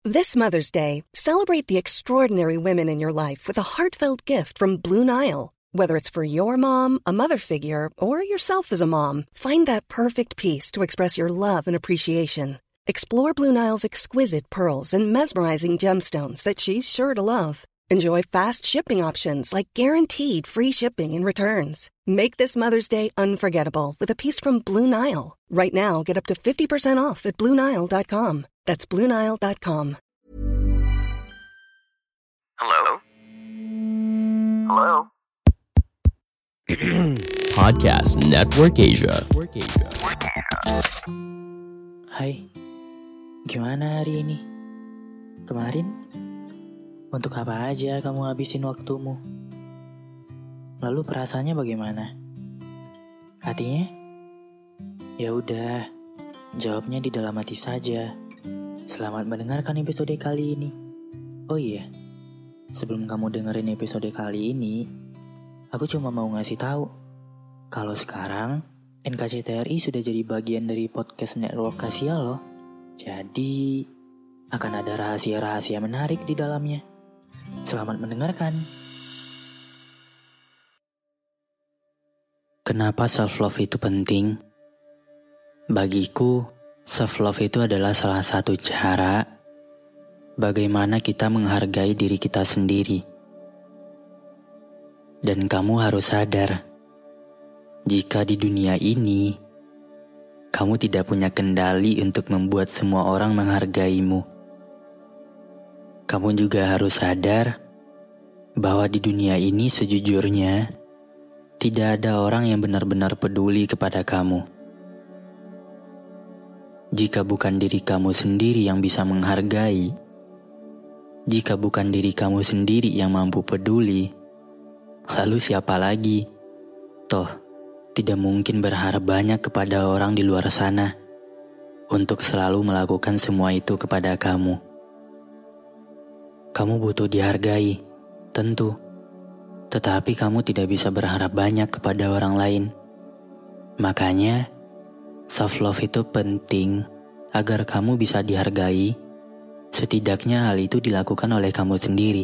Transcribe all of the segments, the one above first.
This Mother's Day, celebrate the extraordinary women in your life with a heartfelt gift from Blue Nile. Whether it's for your mom, a mother figure, or yourself as a mom, find that perfect piece to express your love and appreciation. Explore Blue Nile's exquisite pearls and mesmerizing gemstones that she's sure to love. Enjoy fast shipping options like guaranteed free shipping and returns. Make this Mother's Day unforgettable with a piece from Blue Nile. Right now, get up to 50% off at BlueNile.com. That's BlueNile.com. Hello? Hello? Podcast Network Asia. Hai, gimana hari ini? Kemarin? Untuk apa aja kamu habisin waktumu? Lalu perasaannya bagaimana? Hatinya? Ya udah, jawabnya di dalam hati saja. Selamat mendengarkan episode kali ini. Oh iya, sebelum kamu dengerin episode kali ini, aku cuma mau ngasih tahu kalau sekarang NKCTRI sudah jadi bagian dari podcast network Asia loh. Jadi akan ada rahasia-rahasia menarik di dalamnya. Selamat mendengarkan. Kenapa self-love itu penting? Bagiku, self-love itu adalah salah satu cara bagaimana kita menghargai diri kita sendiri. Dan kamu harus sadar, jika di dunia ini, kamu tidak punya kendali untuk membuat semua orang menghargaimu. Kamu juga harus sadar bahwa di dunia ini sejujurnya, tidak ada orang yang benar-benar peduli kepada kamu. Jika bukan diri kamu sendiri yang bisa menghargai, jika bukan diri kamu sendiri yang mampu peduli, lalu siapa lagi? Toh, tidak mungkin berharap banyak kepada orang di luar sana untuk selalu melakukan semua itu kepada kamu. Kamu butuh dihargai, tentu. Tetapi kamu tidak bisa berharap banyak kepada orang lain. Makanya, self-love itu penting agar kamu bisa dihargai. Setidaknya hal itu dilakukan oleh kamu sendiri.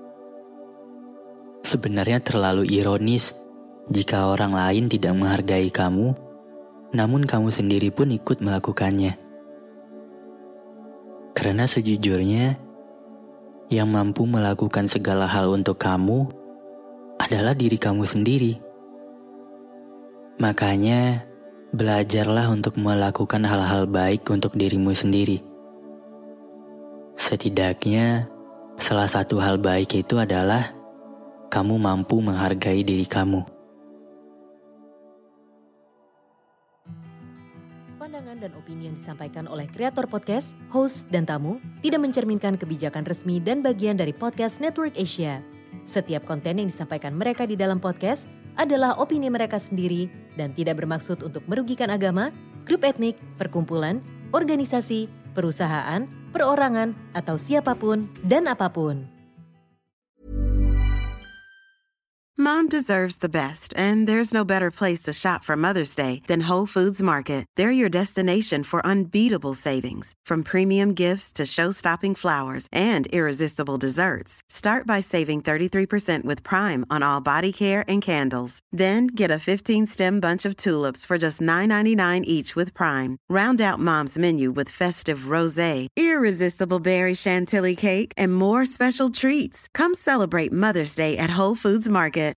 Sebenarnya terlalu ironis jika orang lain tidak menghargai kamu, namun kamu sendiri pun ikut melakukannya. Karena sejujurnya, yang mampu melakukan segala hal untuk kamu adalah diri kamu sendiri. Makanya, belajarlah untuk melakukan hal-hal baik untuk dirimu sendiri. Setidaknya, salah satu hal baik itu adalah kamu mampu menghargai diri kamu. Pandangan dan opini yang disampaikan oleh kreator podcast, host, dan tamu tidak mencerminkan kebijakan resmi dan bagian dari podcast Network Asia. Setiap konten yang disampaikan mereka di dalam podcast adalah opini mereka sendiri dan tidak bermaksud untuk merugikan agama, grup etnik, perkumpulan, organisasi, perusahaan, perorangan, atau siapapun dan apapun. Mom deserves the best, and there's no better place to shop for Mother's Day than Whole Foods Market. They're your destination for unbeatable savings, from premium gifts to show-stopping flowers and irresistible desserts. Start by saving 33% with Prime on all body care and candles. Then get a 15-stem bunch of tulips for just $9.99 each with Prime. Round out Mom's menu with festive rosé, irresistible berry chantilly cake, and more special treats. Come celebrate Mother's Day at Whole Foods Market.